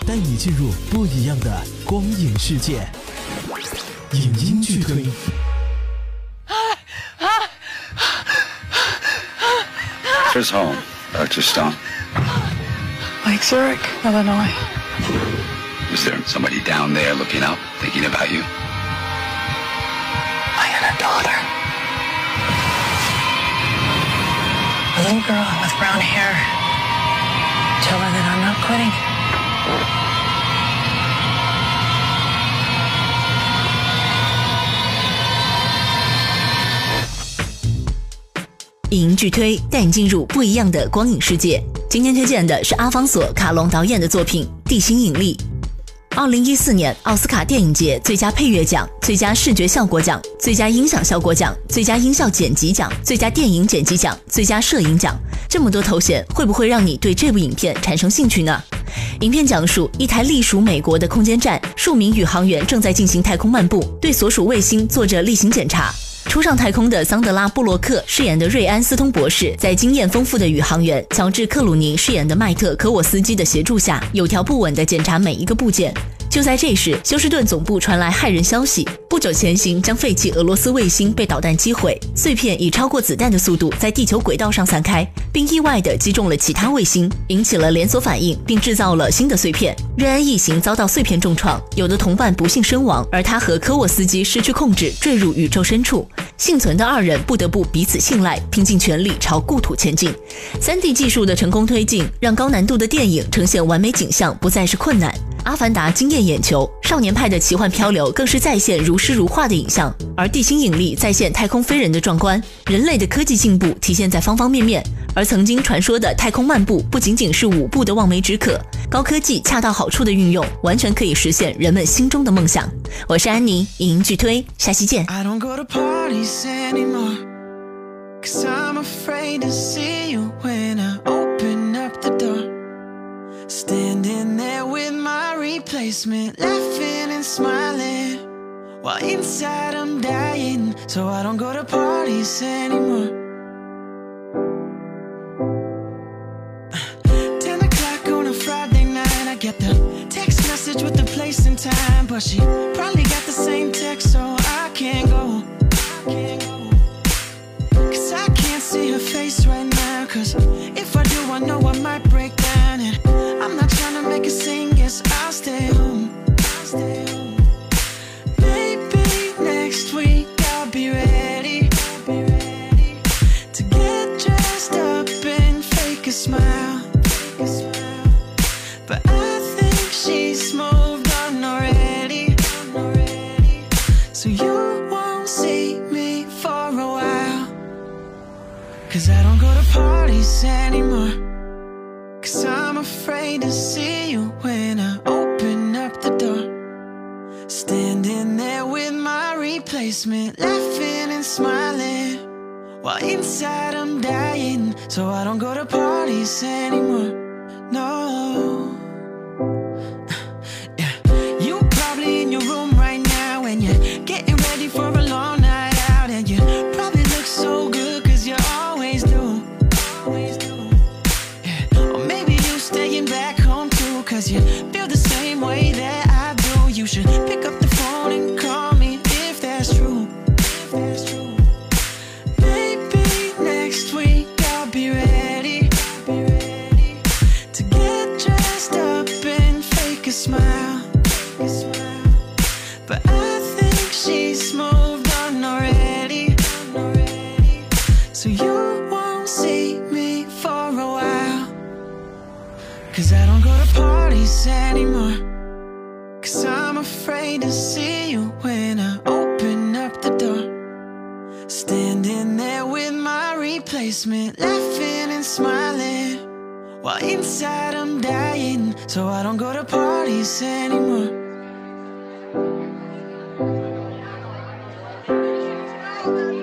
带你进入不一样的光影世界。影音剧推。 Where's home, Dr. Stone? Lake Zurich, Illinois. Is there somebody down there looking up, thinking about you? I had a daughter. A little girl with brown hair. Tell her that I'm not quitting. 影音剧推带你进入不一样的光影世界。今天推荐的是阿方索·卡隆导演的作品《地心引力》。2014年奥斯卡电影节最佳配乐奖、最佳视觉效果奖、最佳音响效果奖、最佳音效剪辑奖、最佳电影剪辑奖、最佳摄影奖，这么多头衔，会不会让你对这部影片产生兴趣呢？影片讲述一台隶属美国的空间站，数名宇航员正在进行太空漫步，对所属卫星做着例行检查。初上太空的桑德拉·布洛克饰演的瑞安·斯通博士，在经验丰富的宇航员乔治·克鲁尼饰演的迈特·可沃斯基的协助下，有条不紊地检查每一个部件。就在这时，休斯顿总部传来骇人消息：不久前行将废弃俄罗斯卫星被导弹击毁，碎片以超过子弹的速度在地球轨道上散开，并意外地击中了其他卫星，引起了连锁反应，并制造了新的碎片。瑞安一行遭到碎片重创，有的同伴不幸身亡，而他和科沃斯基失去控制，坠入宇宙深处。幸存的二人不得不彼此信赖，拼尽全力朝故土前进。3D 技术的成功推进，让高难度的电影呈现完美景象不再是困难。阿凡达惊艳眼球，少年派的奇幻漂流更是再现如诗如画的影像，而地心引力再现太空飞人的壮观。人类的科技进步体现在方方面面，而曾经传说的太空漫步不仅仅是舞步的望梅止渴，高科技恰到好处的运用，完全可以实现人们心中的梦想。我是安妮，影音剧推，下期见。 I don't go to parties anymore, 'cause I'm afraid to see you when I open up the door. Standing there with my replacement, laughing and smiling, while inside I'm dying. So I don't go to parties anymore. 10 o'clock on a Friday night, I get the text message with the place and time, but she probably got the same text, so I can't go. Cause I can't see her face right now, cause if I do I know I might break down, and I'm not trying to make a scene, guess I'll stay home. Maybe next week I'll be ready to get dressed up and fake a smile, but I think she's moved on already, so you won't see me for a while. Cause I don't go to parties anymore, 'cause I'm afraid to see you when I open up the door. Standing there with my replacement, laughing and smiling, while inside I'm dying. So I don't go to parties anymore, no. Yeah. You probably in your room right now, and you're getting ready for a long night out, and you probably look so good, 'cause you always do. Staying back home too, 'cause you feel the same way that I do. You should pick up the phone and call me if that's true. Maybe next week I'll be ready to get dressed up and fake a smile, but I think she's moved on already, so you won't see me for a while. Cause I don't go to parties anymore, 'cause I'm afraid to see you when I open up the door. Standing there with my replacement, laughing and smiling, while inside I'm dying. So I don't go to parties anymore.